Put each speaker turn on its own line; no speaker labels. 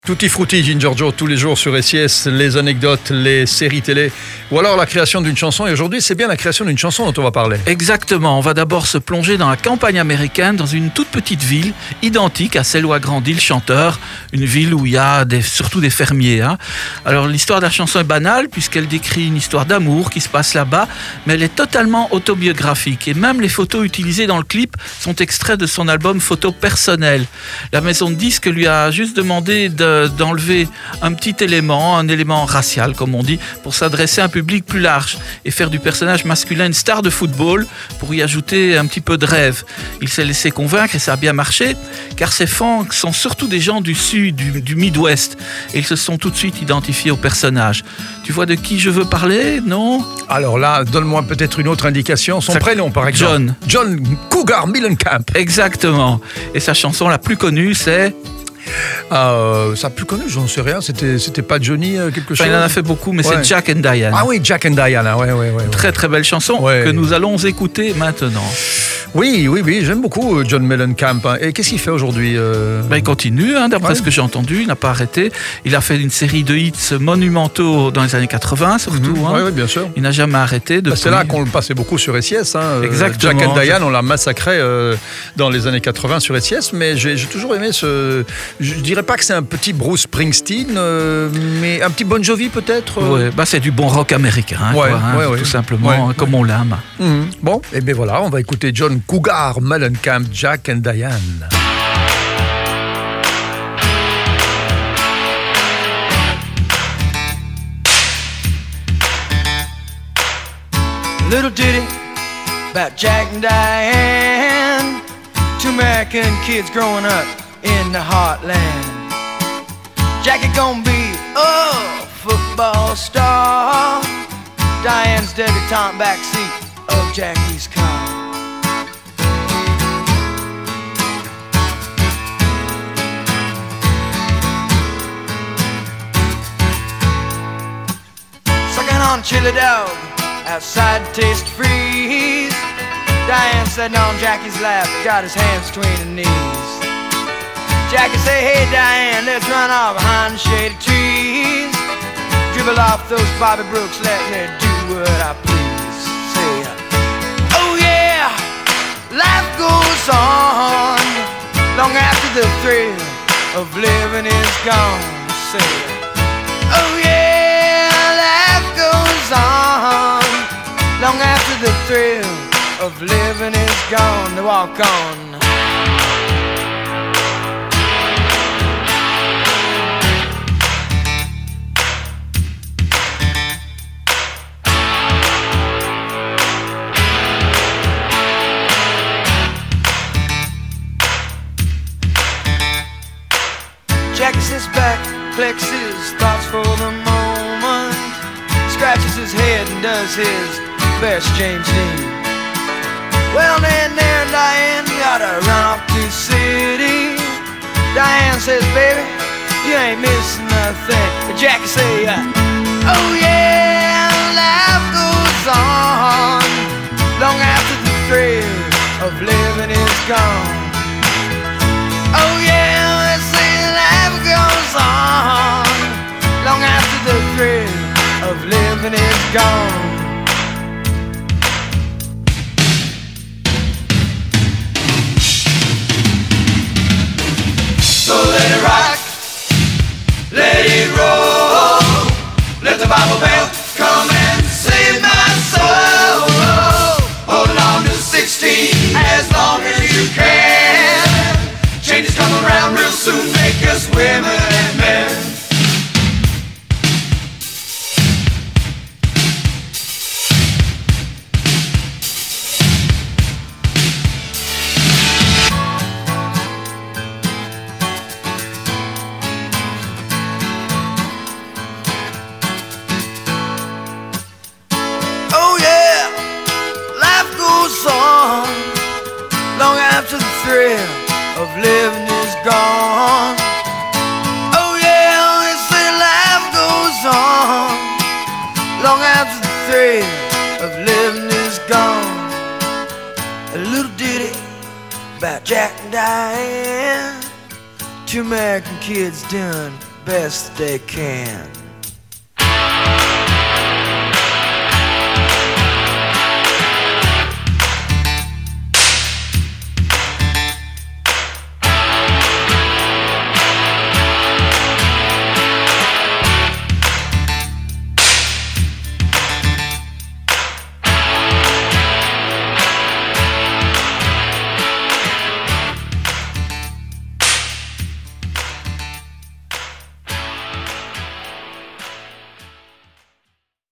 Tutti frutti, Ginger Joe, tous les jours sur SIS, les anecdotes, les séries télé, ou alors la création d'une chanson. Et aujourd'hui, c'est bien la création d'une chanson dont on va parler.
Exactement, on va d'abord se plonger dans la campagne américaine, dans une toute petite ville, identique à celle où a grandi le chanteur, une ville où il y a surtout des fermiers. Alors l'histoire de la chanson est banale, puisqu'elle décrit une histoire d'amour qui se passe là-bas, mais elle est totalement autobiographique. Et même les photos utilisées dans le clip sont extraits de son album Photos personnelles. La maison de disques lui a juste demandé d'enlever un petit élément, un élément racial comme on dit, pour s'adresser à un public plus large et faire du personnage masculin une star de football pour y ajouter un petit peu de rêve. Il s'est laissé convaincre et ça a bien marché, car ses fans sont surtout des gens du sud, du Midwest, et ils se sont tout de suite identifiés au personnage. Tu vois de qui je veux parler, non?
Alors là, donne-moi peut-être une autre indication, son prénom par exemple. John Cougar Mellencamp.
Exactement. Et sa chanson la plus connue, c'est...
ça plus connu, j'en sais rien. C'était pas Johnny quelque chose.
Il en a fait beaucoup, mais c'est Jack and Diane.
Ah oui, Jack and Diane. Ouais.
Très très belle chanson que nous allons écouter maintenant.
Oui, j'aime beaucoup John Mellencamp. Et qu'est-ce qu'il fait aujourd'hui
Il continue, d'après ce que j'ai entendu, il n'a pas arrêté. Il a fait une série de hits monumentaux dans les années 80 surtout.
Oui, bien sûr.
Il n'a jamais arrêté.
C'est là qu'on le passait beaucoup sur SIS.
Exactement.
Jack and Diane, on l'a massacré dans les années 80 sur SIS, mais j'ai toujours aimé ce... Je dirais pas que c'est un petit Bruce Springsteen, mais un petit Bon Jovi peut-être.
C'est du bon rock américain, tout simplement, comme on l'aime.
Bon, et bien voilà, on va écouter John Cougar Mellencamp, Jack and Diane.
Little ditty about Jack and Diane, two American kids growing up in the heartland. Jackie gonna be a football star, Diane's debutante backseat of Jackie's car. Sucking on chili dog outside Taste Freeze, Diane sitting on Jackie's lap, got his hands between her knees. Jackie say, hey Diane, let's run off behind the shady trees, dribble off those Bobby Brooks, let me do what I please. Say, oh yeah, life goes on long after the thrill of living is gone. Say, oh yeah, life goes on long after the thrill of living is gone. To walk on. Jackie sits back, flexes thoughts for the moment, scratches his head and does his best James Dean. Well then there Diane gotta run off to the city. Diane says, baby, you ain't missing nothing. Jackie say, oh yeah, life goes on long after the thrill of living is gone. Oh yeah, let's say life goes on long after the thrill of living is gone.
So let it rock, let it roll, let the Bible bell come and save my soul. Hold on to 16 as long as you can. Changes come around real soon, make us women and men.
Oh yeah, life goes on long after the thrill of living is gone. Oh yeah, they say life goes on long after the thrill of living is gone. A little ditty about Jack and Diane, two American kids done best they can.